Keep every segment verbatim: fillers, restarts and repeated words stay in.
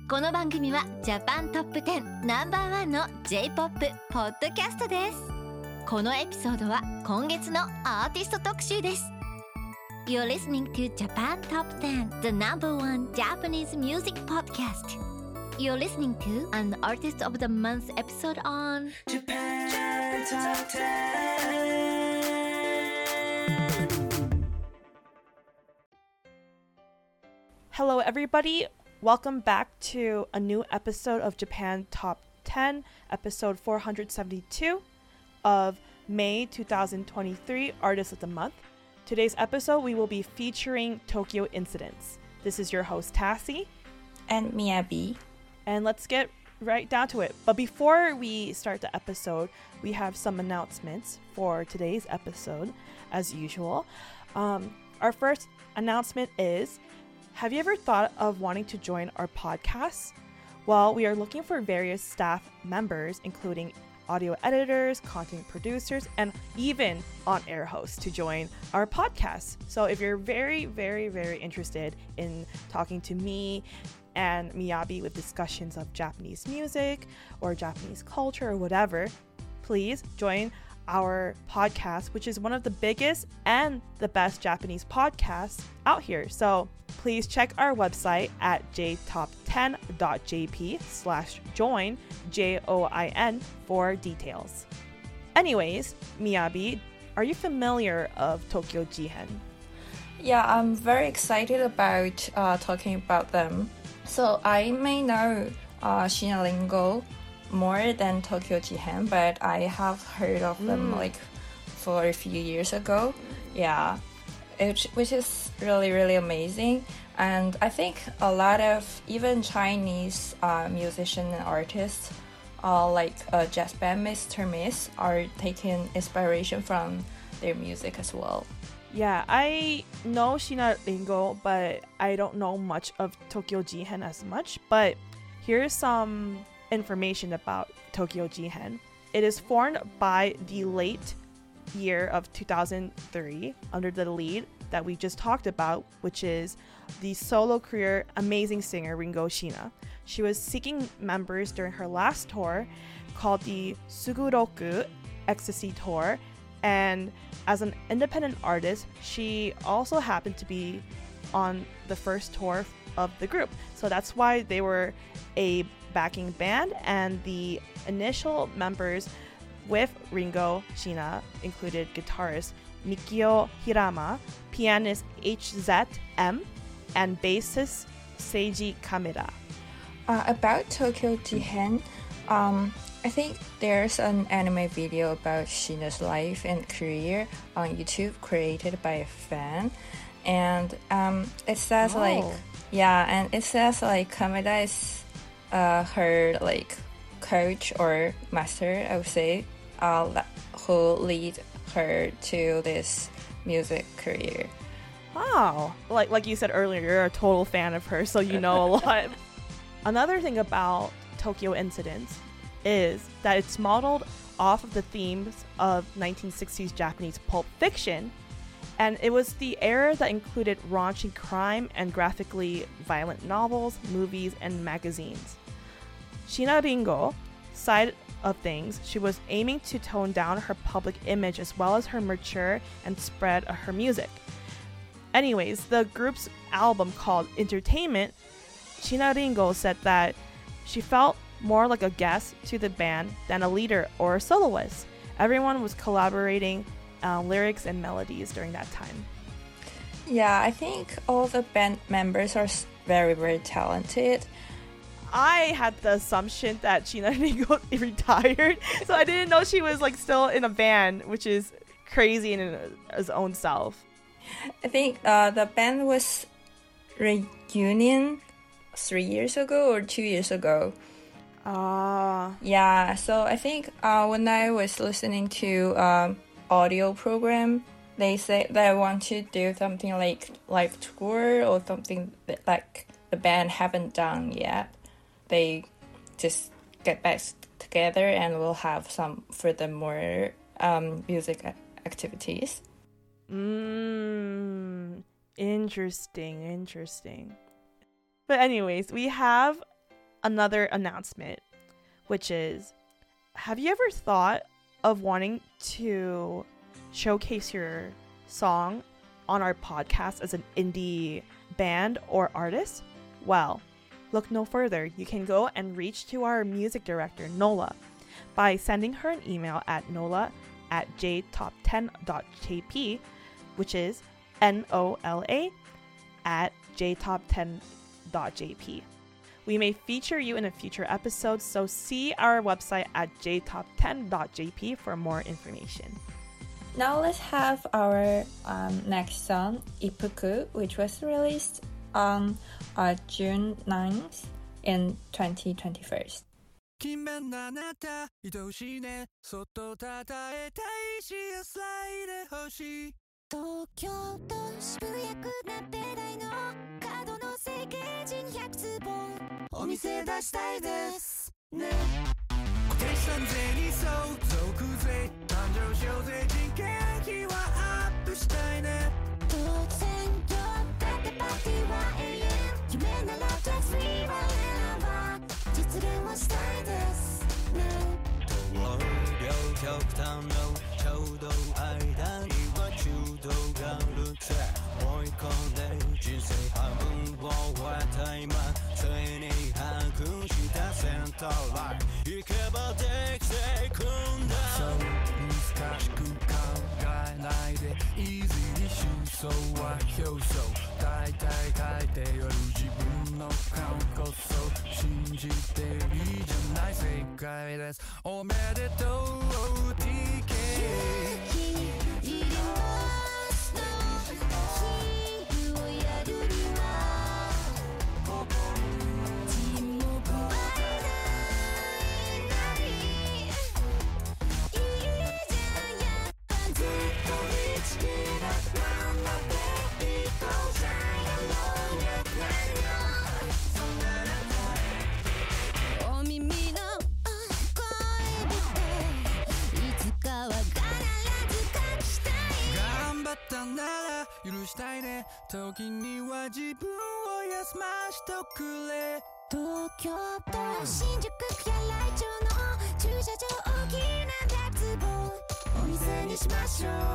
この番組はジャパントップテンナンバーワンの J-ポップ ポッドキャストです。このエピソードは今月のアーティスト特集です。 You're listening to Japan Top ten, the number one Japanese music podcast. You're listening to an Artist of the Month episode on Japan Top ten. Hello everybody, welcome back to a new episode of Japan Top ten, episode four hundred seventy-two of May twenty twenty-three Artist of the Month. Today's episode we will be featuring Tokyo Incidents. This is your host Tassie. And Miyabi. And let's get right down to it. But before we start the episode, we have some announcements for today's episode as usual. Um, our first announcement is, have you ever thought of wanting to join our podcast? Well, we are looking for various staff members, including audio editors, content producers, and even on-air hosts to join our podcast. So if you're very, very, very interested in talking to me and Miyabi with discussions of Japanese music or Japanese culture or whatever, please join our podcast, which is one of the biggest and the best Japanese podcasts out here. So please check our website at j top ten dot j p slash join, J O I N, for details. Anyways, Miyabi, are you familiar of Tokyo Jihen? Yeah, I'm very excited about uh, talking about them. So I may know uh, Shina Lingo more than Tokyo Jihen, but I have heard of them Mm. like for a few years ago. Yeah, it, which is really, really amazing. And I think a lot of even Chinese uh, musicians and artists, uh, like uh, jazz band Mister Miss, are taking inspiration from their music as well. Yeah, I know Shina Ringo, but I don't know much of Tokyo Jihen as much. But here's some information about Tokyo Jihen. It is formed by the late year of two thousand three under the lead that we just talked about, which is the solo career amazing singer Ringo Shina. She was seeking members during her last tour called the Suguroku Ecstasy Tour, and as an independent artist, she also happened to be on the first tour of the group. So that's why they were a backing band, and the initial members with Ringo Shina included guitarist Mikio Hirama, pianist H Z M, and bassist Seiji Kameda. Uh, about Tokyo Jihen, um, I think there's an anime video about Shina's life and career on YouTube created by a fan, and um, it says Oh. like yeah, and it says like Kameda is uh, her like coach or master, I would say, uh, la- who lead her to this music career. Wow. Like like you said earlier, you're a total fan of her, so you know a lot. Another thing about Tokyo Incidents is that it's modeled off of the themes of nineteen sixties Japanese pulp fiction, and it was the era that included raunchy crime and graphically violent novels, movies, and magazines. Shina Ringo side of things, she was aiming to tone down her public image as well as her mature and spread of her music. Anyways, the group's album called Entertainment, Shina Ringo said that she felt more like a guest to the band than a leader or a soloist. Everyone was collaborating uh, lyrics and melodies during that time. Yeah, I think all the band members are s- very, very talented. I had the assumption that Shina Ringo retired, so I didn't know she was like still in a band, which is crazy in its own self. I think uh, the band was reunion three years ago or two years ago. Ah, Yeah, so I think uh, when I was listening to um, audio program, they say they want to do something like live tour or something that like the band haven't done yet. They just get back together and we'll have some furthermore um, music a- activities. mm, interesting, interesting. But anyways, we have another announcement, which is, have you ever thought of wanting to showcase your song on our podcast as an indie band or artist? Well, look no further. You can go and reach to our music director, Nola, by sending her an email at nola at j top ten dot j p, which is N O L A at j top ten dot j p. We may feature you in a future episode, so see our website at j top ten dot j p for more information. Now let's have our um, next song, Ippuku, which was released on uh, June ninth in twenty twenty-one. 勤勉なあなた愛おしいねそっとたたえたいし野菜で欲しい東京都渋谷区なんて台の角の整形人ひゃくつぼお店出したいですね固定資産税に相続税誕生賞税人件費はアップしたいね突然よだってパーティーは永遠夢ならタックスフリーは選ば実現はしたいですね両極端のちょうど間には中道があるって追い込んで人生半分を終えた今ついに把握したセンターライン行けばできていくんだそう難しく考えないで Easy に真相は表層大体書いてある自分の顔こそ信じていいじゃない正解ですおめでとう ティーケーいりますのヒールをやるには沈黙はないいいじゃんやっぱずっと一気なままでいこうじゃやもうやないよお耳の声でいつかは必ず感じたい頑張ったなら許したいね時には自分を休ましとくれ東京都新宿区や来町の駐車場大きなダーツボお店にしましょうよ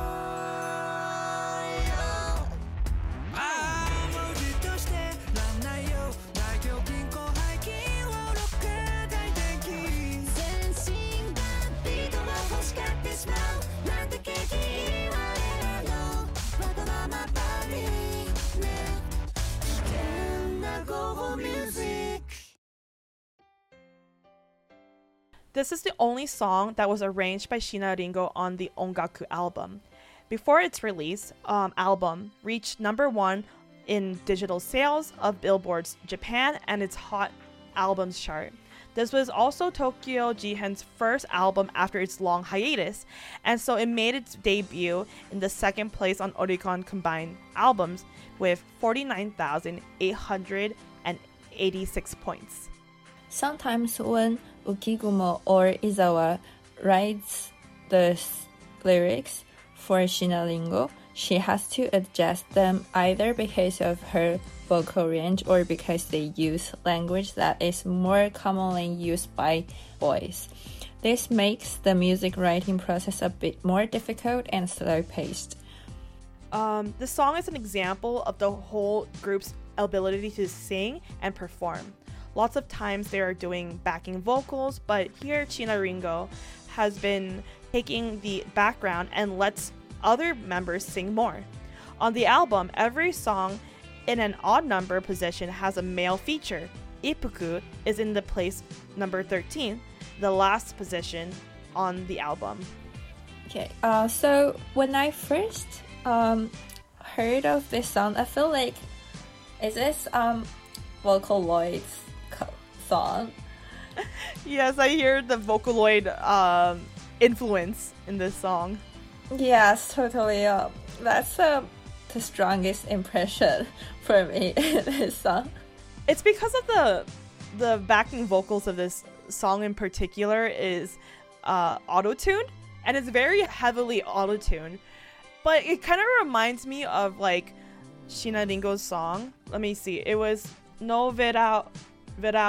ああもうじっとしてらんないよ大胸筋広背筋をロック大電気全身がビートが欲しがってしまうなんて景気いいわれのわがままバディね危険な午後ミュージック This is the only song that was arranged by Shina Ringo on the Ongaku album. Before its release, um, album reached number one in digital sales of Billboard's Japan and its Hot Albums chart. This was also Tokyo Jihen's first album after its long hiatus, and so it made its debut in the second place on Oricon combined albums with forty-nine thousand eight hundred eighty-six points. Sometimes when Ukigumo or Izawa writes the s- lyrics for Shina Ringo, she has to adjust them either because of her vocal range or because they use language that is more commonly used by boys. This makes the music writing process a bit more difficult and slow-paced. Um, the song is an example of the whole group's ability to sing and perform. Lots of times they are doing backing vocals, but here Shina Ringo has been taking the background and lets other members sing more. On the album, every song in an odd number position has a male feature. Ippuku is in the place number thirteen, the last position on the album. Okay, uh, so when I first um, heard of this song, I feel like, is this um, Vocaloid's co- song? Yes, I hear the Vocaloid um, influence in this song. Yes, totally. Uh, that's uh, the strongest impression for me in this song. It's because of the the backing vocals of this song in particular is uh, auto-tuned, and it's very heavily auto-tuned. But it kind of reminds me of like Shina Ringo's song. Let me see. It was No Verão, Verão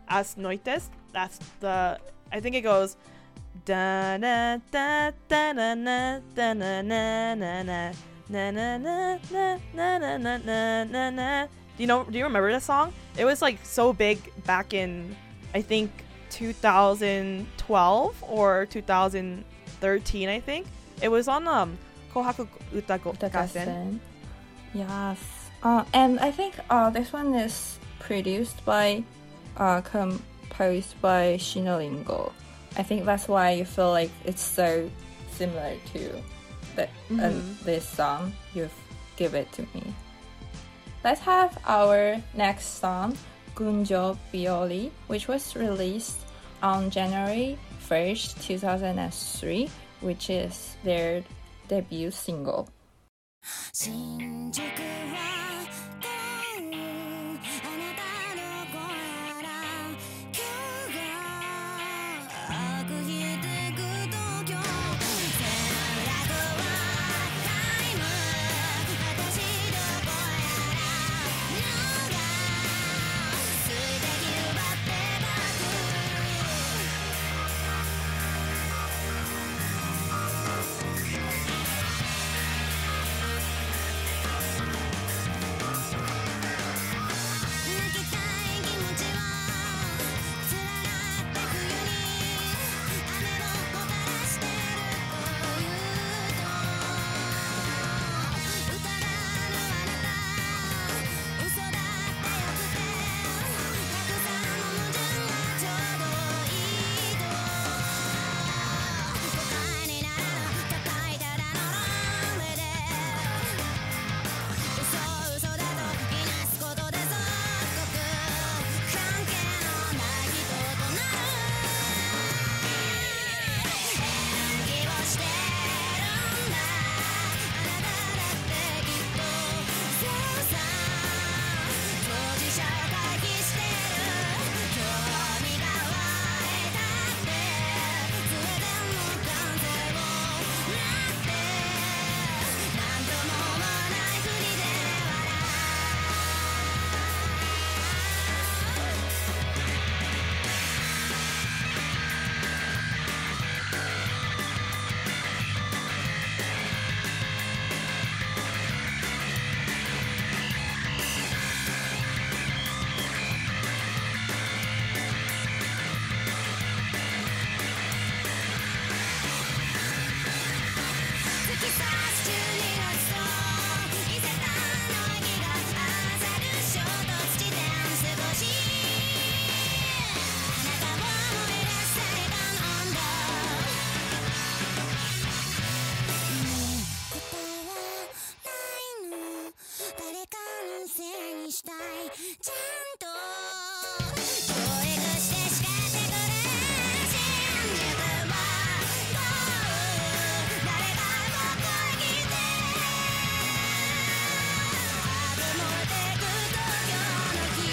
As Noites. That's the, I think it goes da da da da na na da na na na na na na na na na na na na na na. Do you know? Do you remember this song? It was like so big back in, I think, two thousand twelve or two thousand thirteen. I think it was on um Kohaku Uta Gassen. Yes. Uh, and I think uh this one is produced by, uh, composed by Shinoringo. I think that's why you feel like it's so similar to the, Mhm. uh, this song you've give it to me. Let's have our next song, Gunjo Bioli, which was released on January first, two thousand three, which is their debut single. 新宿はこうあなたの声やら今日が悪ひてく東京セーラーはタイム私どこやらのが水滴奪ってバ泣きたい気持ちはつららった冬に雨をもたらしてるというと歌らぬあなた嘘だったよくてたくさんの矛盾がちょうどいいと答えにならぬ高いただのランウェイで嘘嘘だと言いなすことで即刻関係のない人となる演技をしてるんだあなただってきっとそうさ当事者を回避してる興味が湧いたってスウェーデンの男性をなってなんとも思わないふりで笑う突き刺す中二の思想伊勢丹の息が合わさる衝突地点少しあなたを思い出せたんだねえ答えはないの誰かのせいにしたいちゃんと教育して叱ってくれ新宿はどう誰かここへ来てあぶ燃えてく東京の火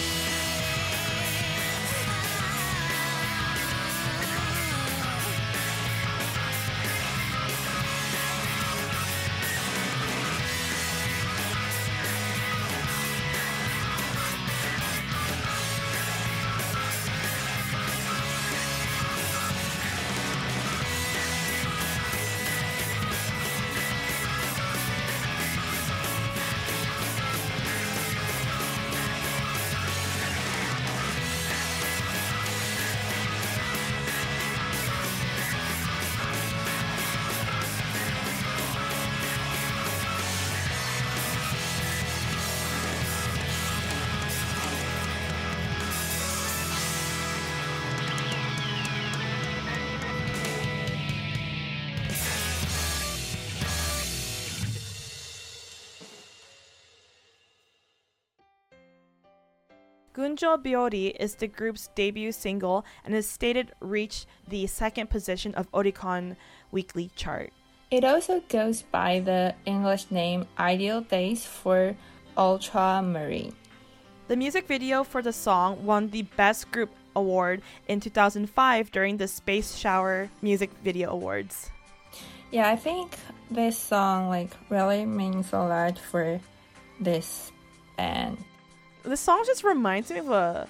Gunjo Biori is the group's debut single and is stated reached the second position of Oricon Weekly chart. It also goes by the English name Ideal Days for Ultramarine. The music video for the song won the Best Group Award in two thousand five during the Space Shower Music Video Awards. Yeah, I think this song like really means a lot for this band. The song just reminds me of a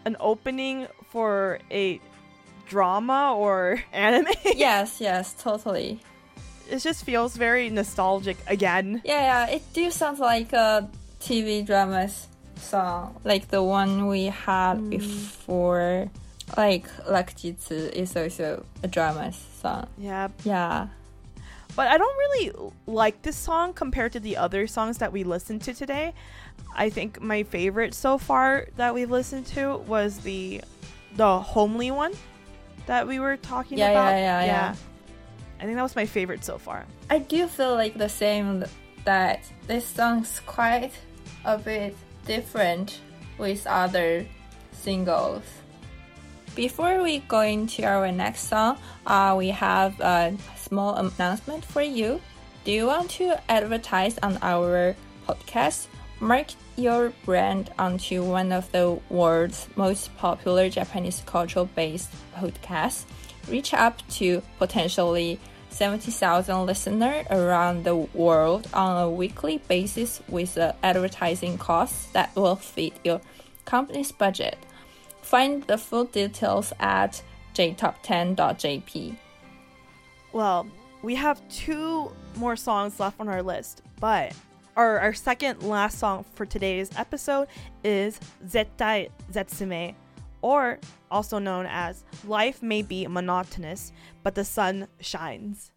an opening for a drama or anime. Yes, yes, totally. It just feels very nostalgic again. Yeah, yeah, it do sound like a T V drama's song, like the one we had mm. before. Like Rakujitsu is also a drama song. Yeah. Yeah. But I don't really like this song compared to the other songs that we listened to today. I think my favorite so far that we've listened to was the the homely one that we were talking yeah, about. Yeah, yeah, yeah, yeah. I think that was my favorite so far. I do feel like the same, that this song's quite a bit different with other singles. Before we go into our next song, uh, we have a small announcement for you. Do you want to advertise on our podcast? Mark your brand onto one of the world's most popular Japanese cultural-based podcasts. Reach up to potentially seventy thousand listeners around the world on a weekly basis with an advertising cost that will fit your company's budget. Find the full details at j top ten dot j p. Well, we have two more songs left on our list, but our, our second last song for today's episode is Zettai Zetsume, or also known as Life May Be Monotonous, but the Sun Shines.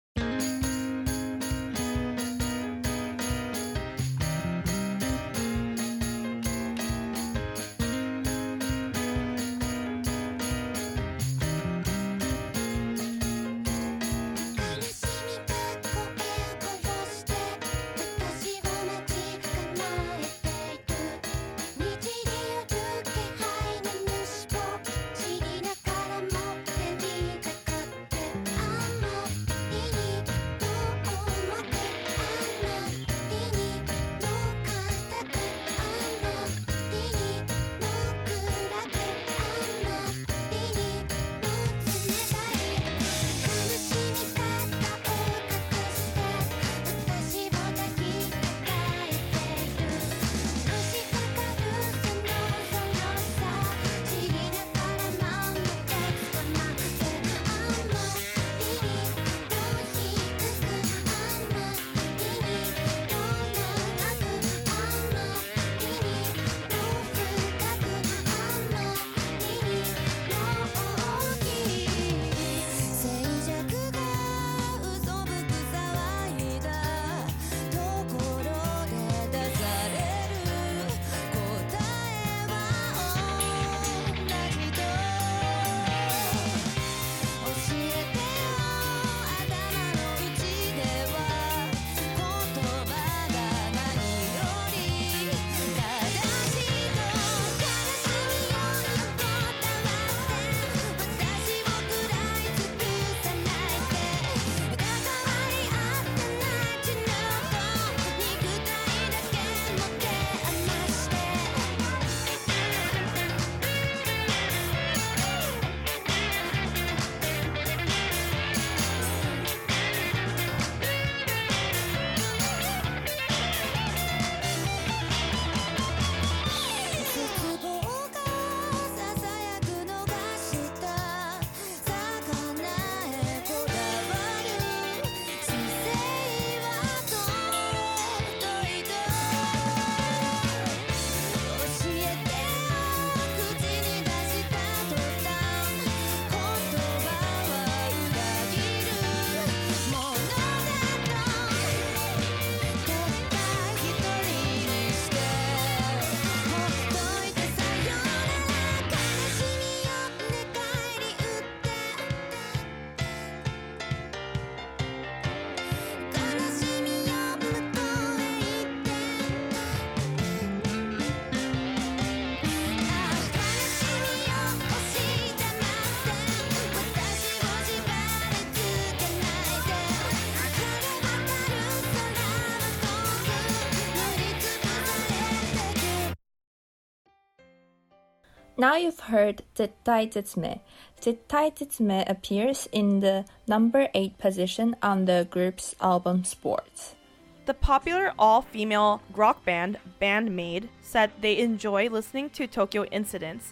'Now you've heard Zettai Zetsume. Zettai Zetsume appears in the number eight position on the group's album Sports. The popular all-female rock band Band Maid said they enjoy listening to Tokyo Incidents,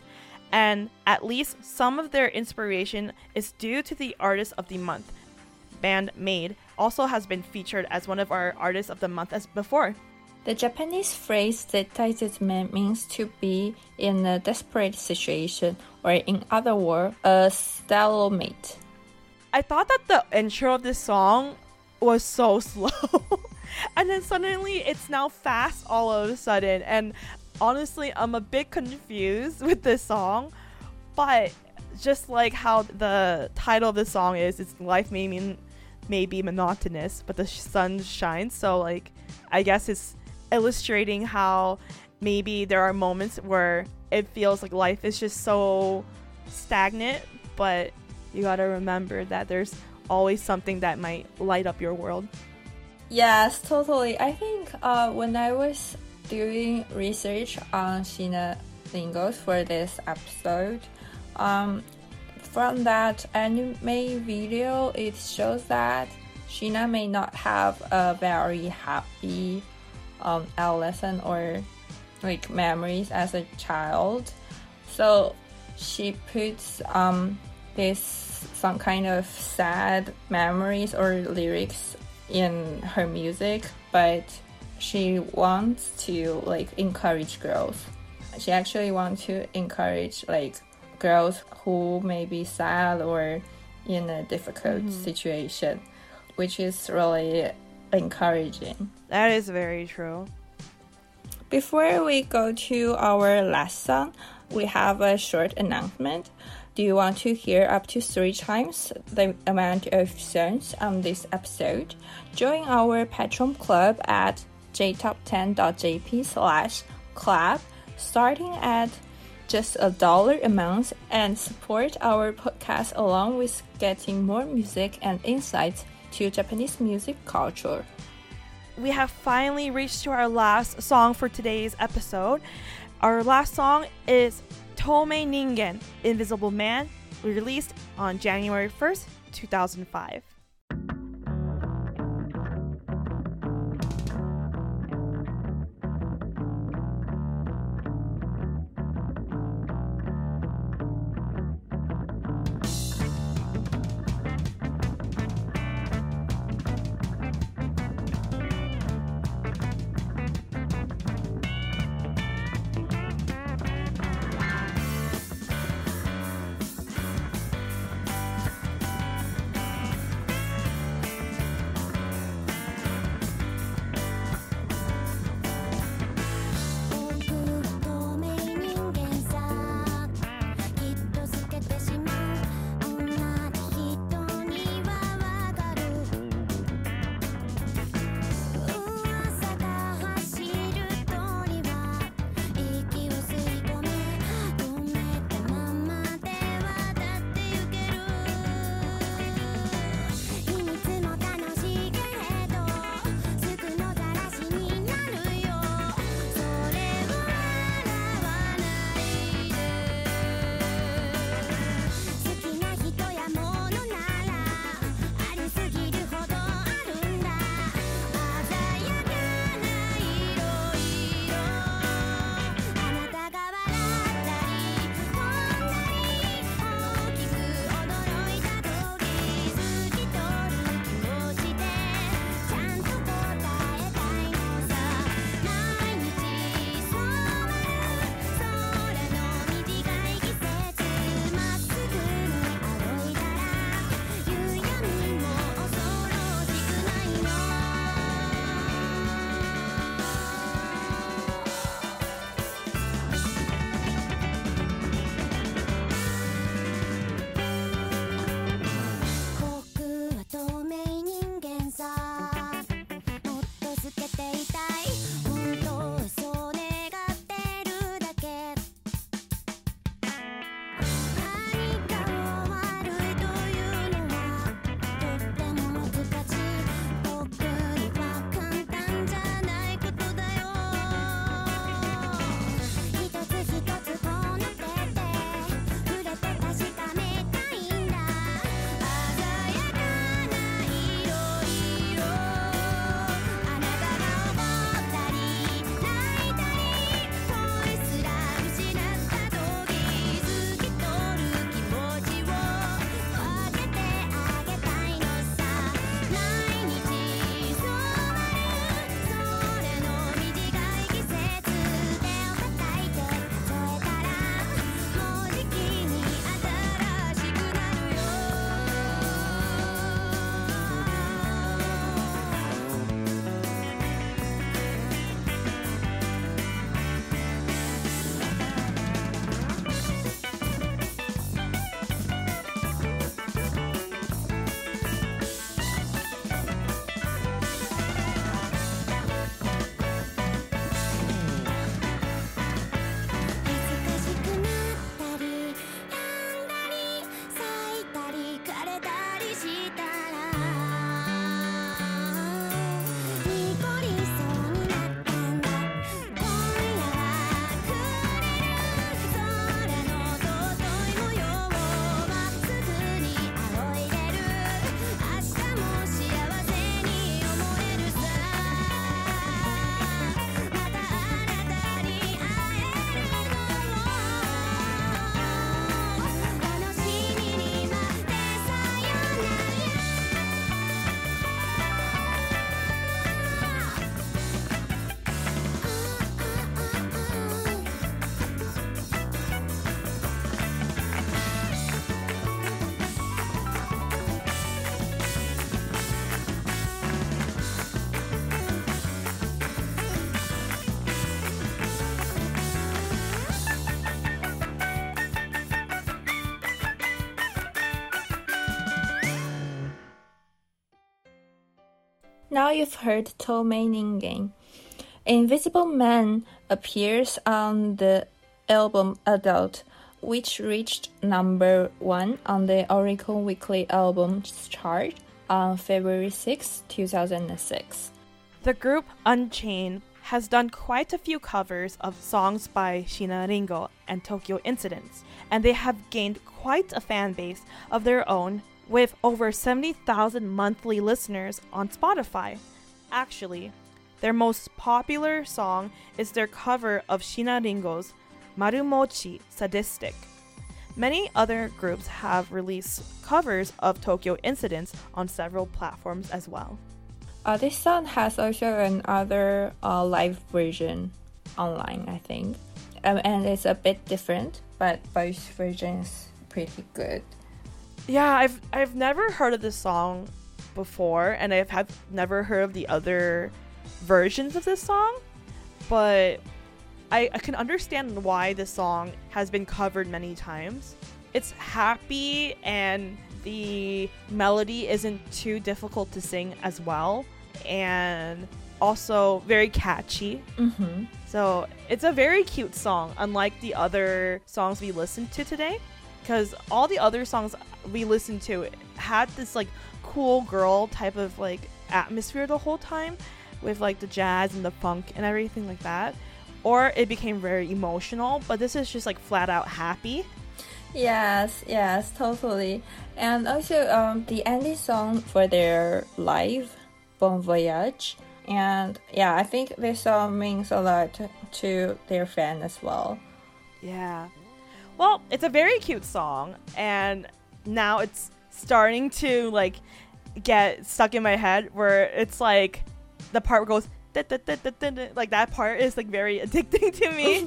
and at least some of their inspiration is due to the Artist of the Month. Band Made also has been featured as one of our Artists of the Month as before. The Japanese phrase "zettai means to be in a desperate situation, or in other words, a stalemate. I thought that the intro of this song was so slow. And then suddenly it's now fast all of a sudden. And honestly, I'm a bit confused with this song. But just like how the title of the song is, it's life may mean may be monotonous, but the sun shines. So like, I guess it's illustrating how maybe there are moments where it feels like life is just so stagnant, but you gotta remember that there's always something that might light up your world. Yes, totally. I think uh, when I was doing research on Sheena Lingos for this episode, um, from that anime video, it shows that Sheena may not have a very happy um, adolescent or like memories as a child. So she puts um, this some kind of sad memories or lyrics in her music, but she wants to like encourage girls. She actually wants to encourage like girls who may be sad or in a difficult mm-hmm. situation, which is really encouraging. That is very true. Before we go to our last song, we have a short announcement. Do you want to hear up to three times the amount of songs on this episode? Join our Patreon club at j top ten dot j p slash club, starting at just a dollar a month, and support our podcast along with getting more music and insights to Japanese music culture. We have finally reached to our last song for today's episode. Our last song is Toumei Ningen, Invisible Man, released on January first, two thousand five. Now you've heard Tomei Ningen. Invisible Man appears on the album Adult, which reached number one on the Oricon Weekly Albums chart on February sixth, two thousand six. The group Unchained has done quite a few covers of songs by Shina Ringo and Tokyo Incidents, and they have gained quite a fan base of their own with over seventy thousand monthly listeners on Spotify. Actually, their most popular song is their cover of Shina Ringo's Marumochi Sadistic. Many other groups have released covers of Tokyo Incidents on several platforms as well. Uh, this song has also another uh, live version online, I think. Um, and it's a bit different, but both versions pretty good. Yeah, I've I've never heard of this song before, and I have never heard of the other versions of this song, but I, I can understand why this song has been covered many times. It's happy, and the melody isn't too difficult to sing as well, and also very catchy. Mm-hmm. So it's a very cute song, unlike the other songs we listened to today, because all the other songs we listened to had this like cool girl type of like atmosphere the whole time, with like the jazz and the funk and everything like that, or it became very emotional, but this is just like flat out happy. Yes, yes, totally. And also um, the ending song for their live, Bon Voyage. And yeah, I think this song means a lot to their fan as well. Yeah. Well, it's a very cute song, and now it's starting to like get stuck in my head where it's like the part where it goes da, da, da, da, da, da, like that part is like very addicting to me.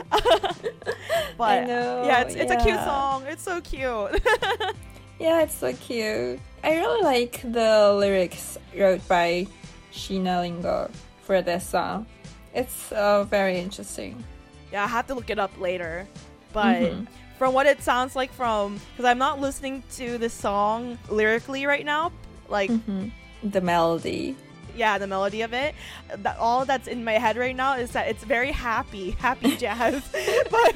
But I know, yeah, it's it's a cute yeah. song. It's so cute. Yeah, it's so cute. I really like the lyrics wrote by Shina Ringo for this song. It's uh, very interesting. Yeah, I have to look it up later. But Mhm. from what it sounds like, from because I'm not listening to this song lyrically right now, like Mhm. The melody. yeah, the melody of it, that all that's in my head right now is that it's very happy, happy jazz. but,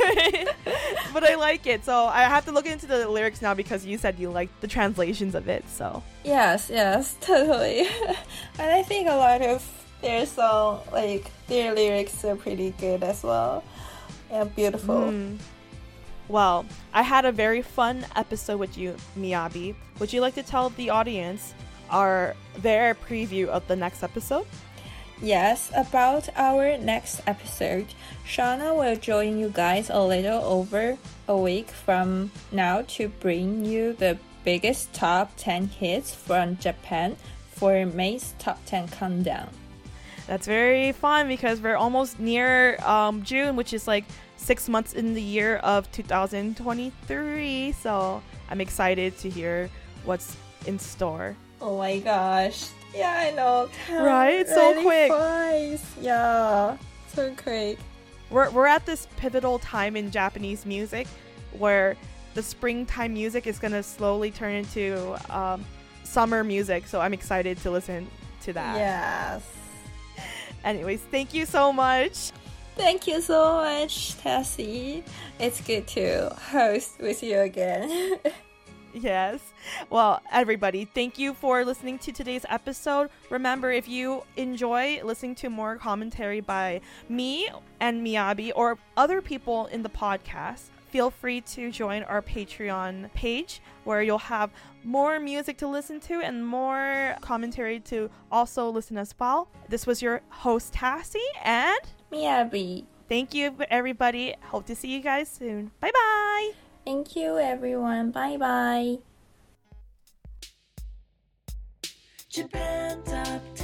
but I like it, so I have to look into the lyrics now because you said you like the translations of it. So Yes, yes, totally. And I think a lot of their song, like their lyrics are pretty good as well. And beautiful. Mm. Well, I had a very fun episode with you, Miyabi. Would you like to tell the audience our their preview of the next episode? Yes, about our next episode, Shauna will join you guys a little over a week from now to bring you the biggest top ten hits from Japan for May's Top ten Countdown. That's very fun because we're almost near um, June, which is like six months in the year of two thousand twenty-three. So I'm excited to hear what's in store. Oh my gosh. Yeah, I know. Time Right? So really quick. flies. Yeah, so quick. We're, we're at this pivotal time in Japanese music where the springtime music is going to slowly turn into um, summer music. So I'm excited to listen to that. Yes. Anyways, thank you so much. Thank you so much, Tessie. It's good to host with you again. Yes. Well, everybody, thank you for listening to today's episode. Remember, if you enjoy listening to more commentary by me and Miyabi or other people in the podcast, feel free to join our Patreon page where you'll have more music to listen to and more commentary to also listen as well. This was your host, Tassie, and Miyabi. thank you, everybody. Hope to see you guys soon. Bye-bye. Thank you, everyone. Bye bye. Japan Top